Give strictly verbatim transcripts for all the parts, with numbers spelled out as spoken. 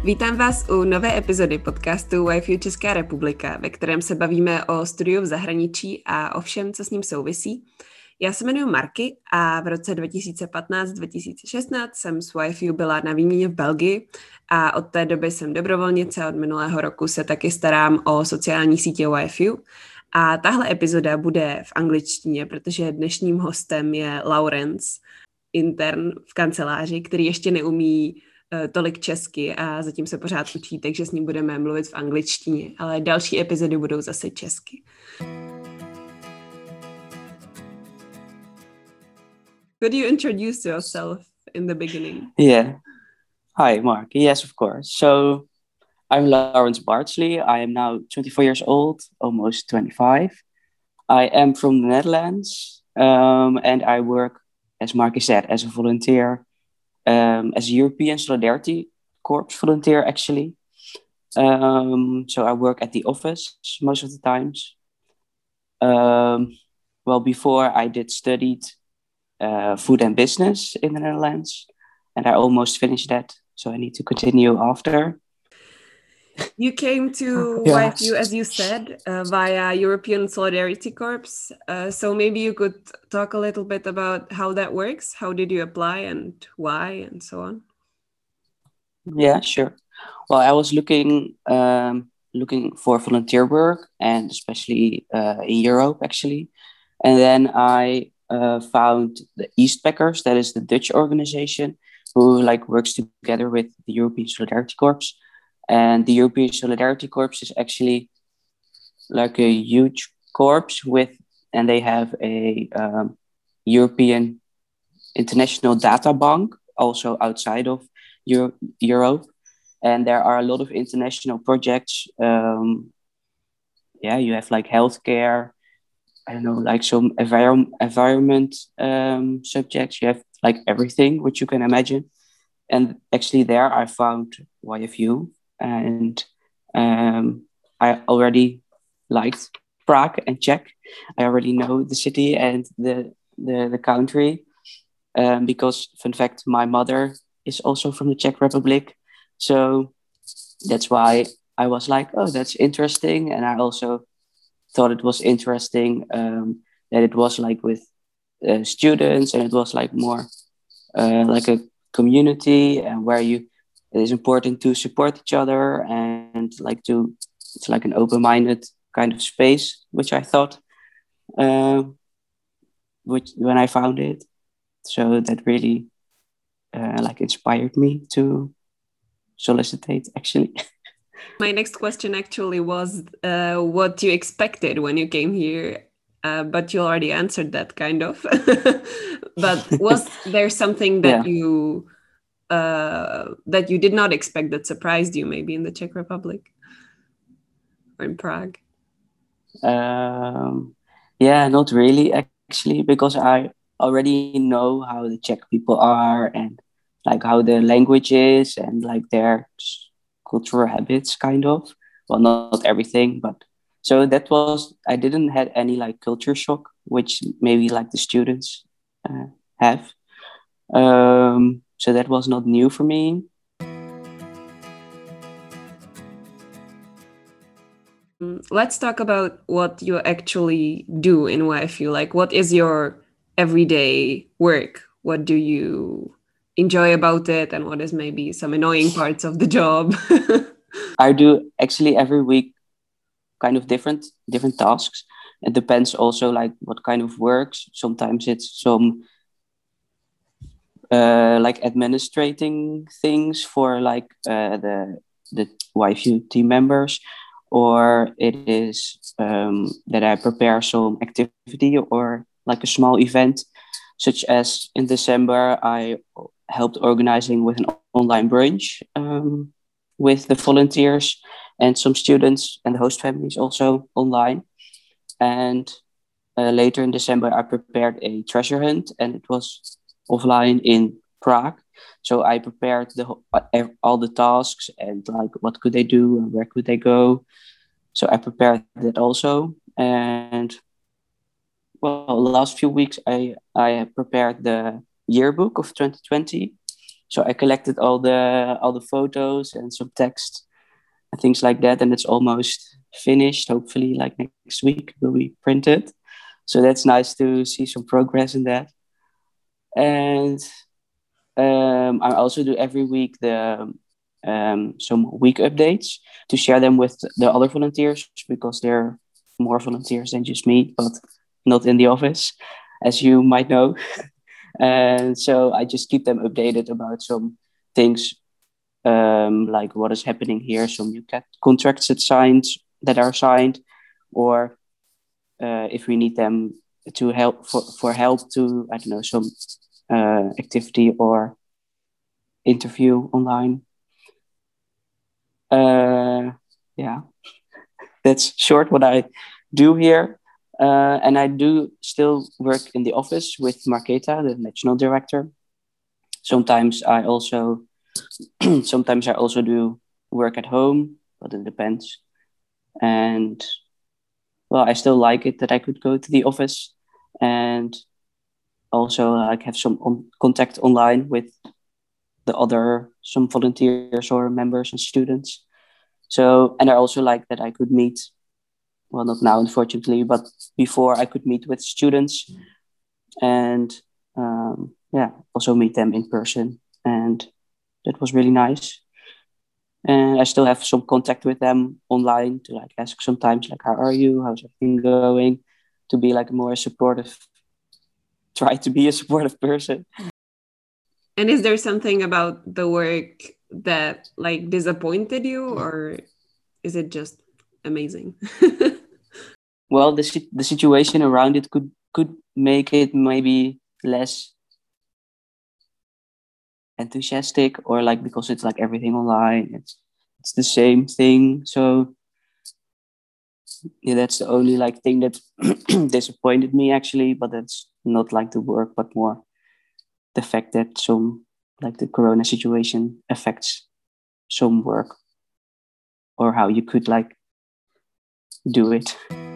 Vítám vás u nové epizody podcastu Wi-Fi Česká republika, ve kterém se bavíme o studiu v zahraničí a o všem, co s ním souvisí. Já se jmenuji Marky a v roce dva tisíce patnáct dva tisíce šestnáct jsem s Wi-Fi byla na výměně v Belgii a od té doby jsem dobrovolnice, od minulého roku se taky starám o sociální sítě Wi-Fi. A tahle epizoda bude v angličtině, protože dnešním hostem je Laurence, intern v kanceláři, který ještě neumí tolik česky a zatím se pořád učí, takže s ním budeme mluvit v angličtině, ale další epizody budou zase česky. Could you introduce yourself in the beginning? Yeah. Hi, Mark. Yes, of course. So I'm Laurence Bardsley. I am now twenty-four years old, almost twenty-five. I am from the Netherlands, um, and I work, as Marky said, as a volunteer, um, as a European Solidarity Corps volunteer, actually. Um, so I work at the office most of the times. Um, well, before I did studied uh, food and business in the Netherlands, and I almost finished that. So I need to continue after. You came to Yeah. Wi-Fi, as you said, uh, via European Solidarity Corps. Uh, so maybe you could talk a little bit about how that works. How did you apply and why and so on? Yeah, sure. Well, I was looking um, looking for volunteer work, and especially uh, in Europe, actually. And then I uh, found the Eastpackers, that is the Dutch organization, who like works together with the European Solidarity Corps. And the European Solidarity Corps is actually like a huge corps with, and they have a um, European international data bank also outside of Euro- Europe. And there are a lot of international projects. Um, yeah, you have like healthcare, I don't know, like some envir- environment um, subjects. You have like everything which you can imagine. And actually there I found Y F U. And um, I already liked Prague and Czech. I already know the city and the the, the country. Um, because, fun fact, my mother is also from the Czech Republic. So that's why I was like, oh, that's interesting. And I also thought it was interesting um, that it was like with uh, students, and it was like more uh, like a community, and where you it is important to support each other and like to it's like an open-minded kind of space, which I thought uh, which when I found it. So that really uh, like inspired me to solicitate, actually. My next question actually was uh, what you expected when you came here, uh, but you already answered that kind of. But was there something that Yeah. you uh, that you did not expect that surprised you, maybe in the Czech Republic or in Prague? Um, yeah, not really, actually, because I already know how the Czech people are, and like how the language is, and like their cultural habits, kind of. Well, not, not everything, but so that was, I didn't had any like culture shock, which maybe like the students uh, have. Um, so that was not new for me. Let's talk about what you actually do in Wi-Fi. Like, what is your everyday work? What do you enjoy about it, and what is maybe some annoying parts of the job? I do actually every week kind of different different tasks. It depends also like what kind of works. Sometimes it's some uh, like administrating things for like uh, the the Wi-Fi team members, or it is um, that I prepare some activity or like a small event, such as in December I helped organizing with an online brunch um, with the volunteers and some students and the host families also online. And uh, later in December I prepared a treasure hunt, and it was offline in Prague. So I prepared the all the tasks and like what could they do and where could they go. So I prepared that also. And well, the last few weeks I I prepared the yearbook of twenty twenty. So I collected all the all the photos and some text and things like that, and it's almost finished. Hopefully, like next week, will be printed. So that's nice to see some progress in that. And um, I also do every week the um, some week updates to share them with the other volunteers, because they're more volunteers than just me, but not in the office, as you might know. And so I just keep them updated about some things, um, like what is happening here, some new cat contracts that signed that are signed, or uh, if we need them to help for, for help to, I don't know, some uh, activity or interview online. Uh, yeah, that's short what I do here. Uh, and I do still work in the office with Marketa, the national director. Sometimes I also sometimes I also do work at home, but it depends. And well, I still like it that I could go to the office and also like have some on- contact online with the other some volunteers or members and students. So, and I also like that I could meet, well, not now, unfortunately, but before I could meet with students and um, yeah, also meet them in person. And that was really nice. And I still have some contact with them online to like ask sometimes like, how are you? How's everything going? To be like more supportive, try to be a supportive person. And is there something about the work that like disappointed you, or is it just amazing? Well, the the situation around it could could make it maybe less enthusiastic, or like because it's like everything online, it's it's the same thing. So yeah, that's the only like thing that disappointed me actually. But that's not like the work, but more the fact that some like the corona situation affects some work or how you could like do it.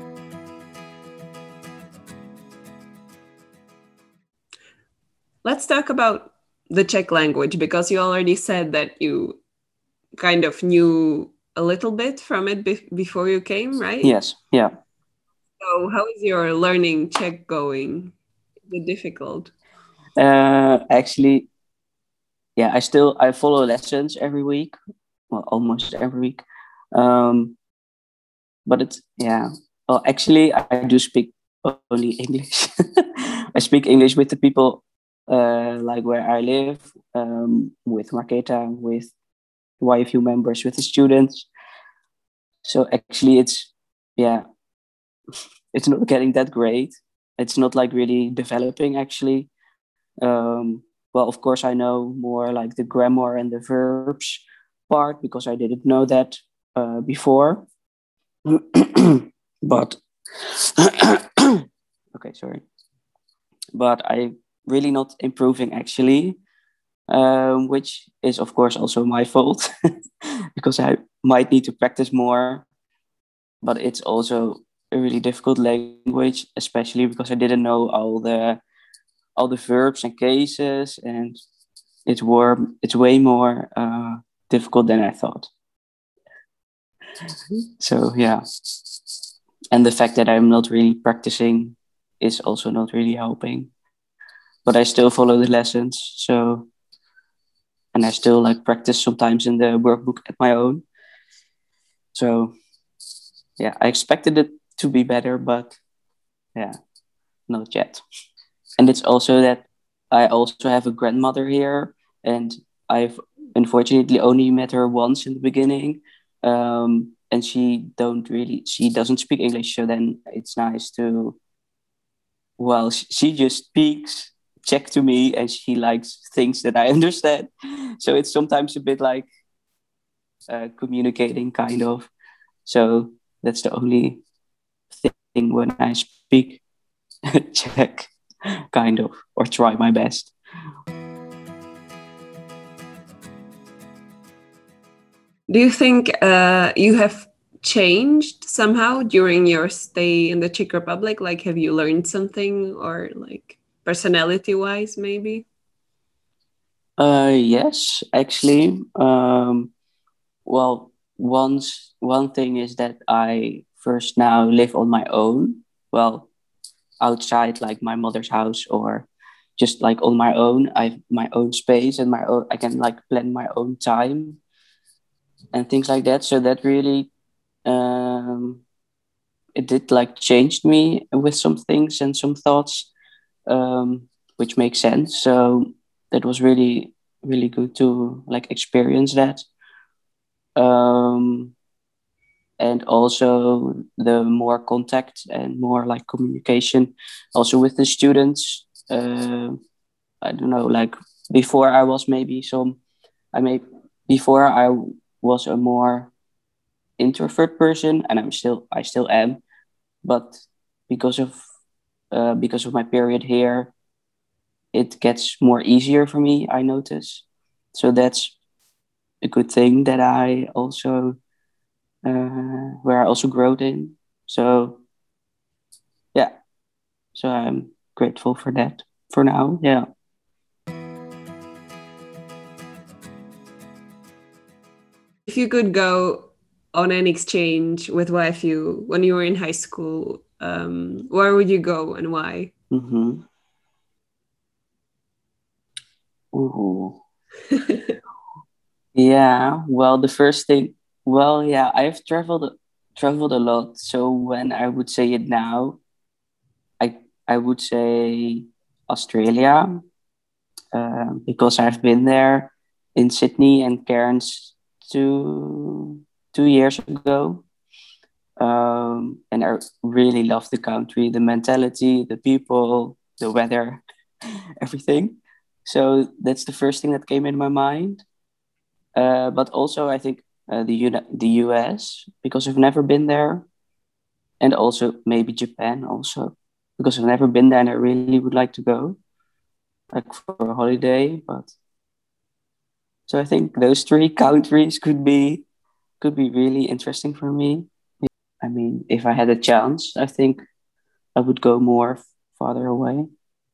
Let's talk about the Czech language, because you already said that you kind of knew a little bit from it be- before you came, right? Yes, yeah. So how is your learning Czech going? Is it difficult? Uh, actually, yeah, I still I follow lessons every week, well, almost every week. Um, but it's yeah. Well, actually, I do speak only English. I speak English with the people, uh, like where I live, um, with Marketa, with Y F U members, with the students. So actually, it's yeah, it's not getting that great. It's not like really developing actually. Um, well, of course, I know more like the grammar and the verbs part because I didn't know that uh, before. But okay, sorry. But I really not improving actually, um, which is of course also my fault because I might need to practice more. But it's also a really difficult language, especially because I didn't know all the all the verbs and cases, and it's more it's way more uh, difficult than I thought. So yeah, and the fact that I'm not really practicing is also not really helping. But I still follow the lessons, so and I still like practice sometimes in the workbook at my own. So yeah, I expected it to be better, but yeah, not yet. And it's also that I also have a grandmother here, and I've unfortunately only met her once in the beginning, um, and she don't really she doesn't speak English. So then it's nice to well, she, she just speaks Czech to me, and she likes things that I understand. So it's sometimes a bit like uh, communicating, kind of. So that's the only thing when I speak Czech, kind of, or try my best. Do you think uh, you have changed somehow during your stay in the Czech Republic? Like, have you learned something, or like personality-wise, maybe? Uh, yes, actually. Um, well, once one thing is that I first now live on my own. Well, outside like my mother's house or just like on my own. I have my own space and my own. I can like plan my own time and things like that. So that really um, it did like changed me with some things and some thoughts, um, which makes sense. So that was really really good to like experience that. Um, and also the more contact and more like communication also with the students. Uh, I don't know, like before I was maybe some, I may, before I was a more introvert person, and I'm still, I still am, but because of, uh, because of my period here, it gets more easier for me, I notice. So that's a good thing that I also, uh, where I also growed in. So yeah, so I'm grateful for that for now. Yeah. If you could go on an exchange with Y F U when you were in high school, um, where would you go and why? Mm-hmm. Ooh. Yeah, well, the first thing, well, yeah, I've traveled traveled a lot. So when I would say it now, I I would say Australia, uh, because I've been there in Sydney and Cairns two two years ago, um, and I really love the country, the mentality, the people, the weather, everything. So that's the first thing that came in my mind. Uh, but also, I think uh, the Uni- the U S because I've never been there, and also maybe Japan also because I've never been there and I really would like to go, like for a holiday. But so I think those three countries could be could be really interesting for me. I mean, if I had a chance, I think I would go more farther away.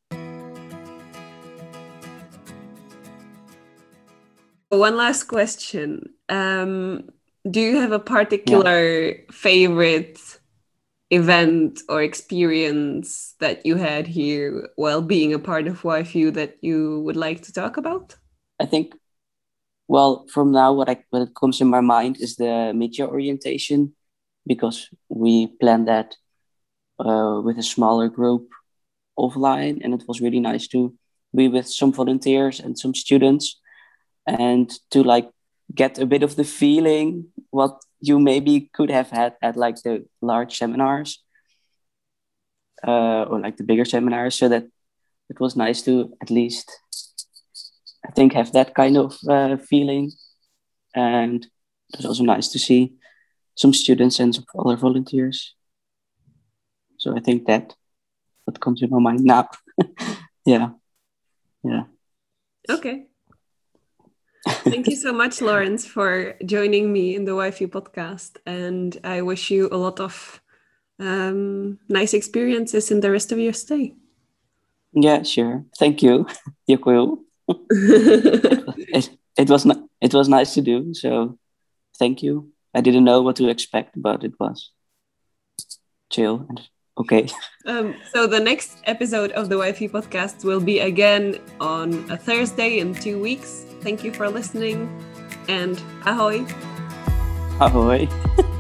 One last question. Um, do you have a Yeah, particular favorite event or experience that you had here while being a part of Y F U that you would like to talk about? I think. Well, from now, what I what comes in my mind is the mid-year orientation because we planned that uh, with a smaller group offline, and it was really nice to be with some volunteers and some students and to like get a bit of the feeling what you maybe could have had at like the large seminars, uh, or like the bigger seminars. So that it was nice to at least, I think, have that kind of uh, feeling. And it was also nice to see some students and some other volunteers. So I think that what comes in my mind now. Yeah, yeah. Okay. Thank you so much, Lawrence, for joining me in the Y F U podcast. And I wish you a lot of um, nice experiences in the rest of your stay. Yeah, sure. Thank you. Yakuil. it, it, it was not, it was nice to do. So thank you. I didn't know what to expect, but it was chill and okay. Um, so the next episode of the Y F U podcast will be again on a Thursday in two weeks. Thank you for listening and ahoy. Ahoy.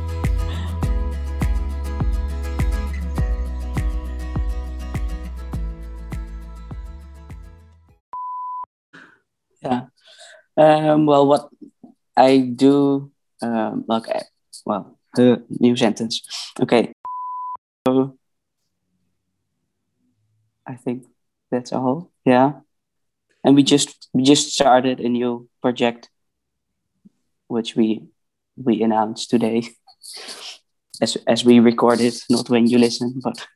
Yeah. Um, well, what I do, um, okay. Well, uh, new sentence. Okay. So I think that's all. Yeah. And we just we just started a new project, which we we announced today, as as we record it, not when you listen, but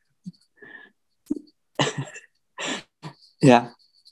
yeah.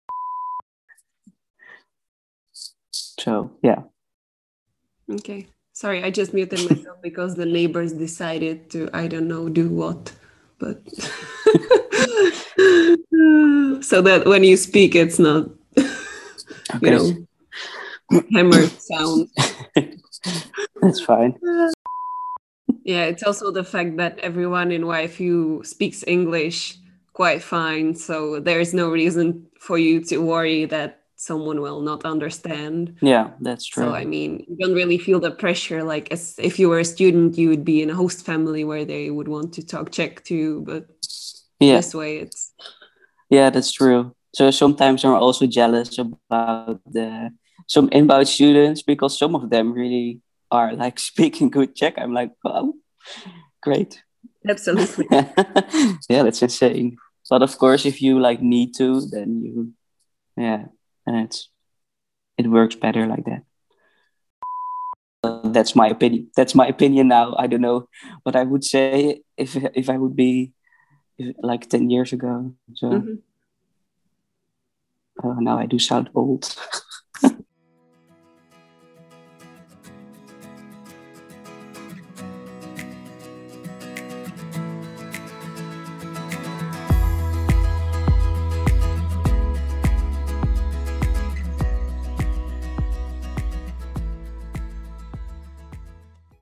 So yeah. Okay. Sorry, I just muted myself because the neighbors decided to, I don't know, do what. But so that when you speak, it's not you Okay. know, hammer sound. That's fine. Yeah, it's also the fact that everyone in Y F U speaks English quite fine, so there's no reason for you to worry that someone will not understand. Yeah, that's true. So, I mean, you don't really feel the pressure, like as if you were a student, you would be in a host family where they would want to talk Czech too, but Yeah. this way it's... Yeah, that's true. So sometimes I'm also jealous about the some inbound students because some of them really are like speaking good Czech. I'm like, wow, great. Absolutely. Yeah, that's insane. But of course, if you like need to, then you, yeah, and it's it works better like that. Uh, that's my opinion. That's my opinion now. I don't know what I would say if if I would be if, like ten years ago. So Mhm. uh, now I do sound old.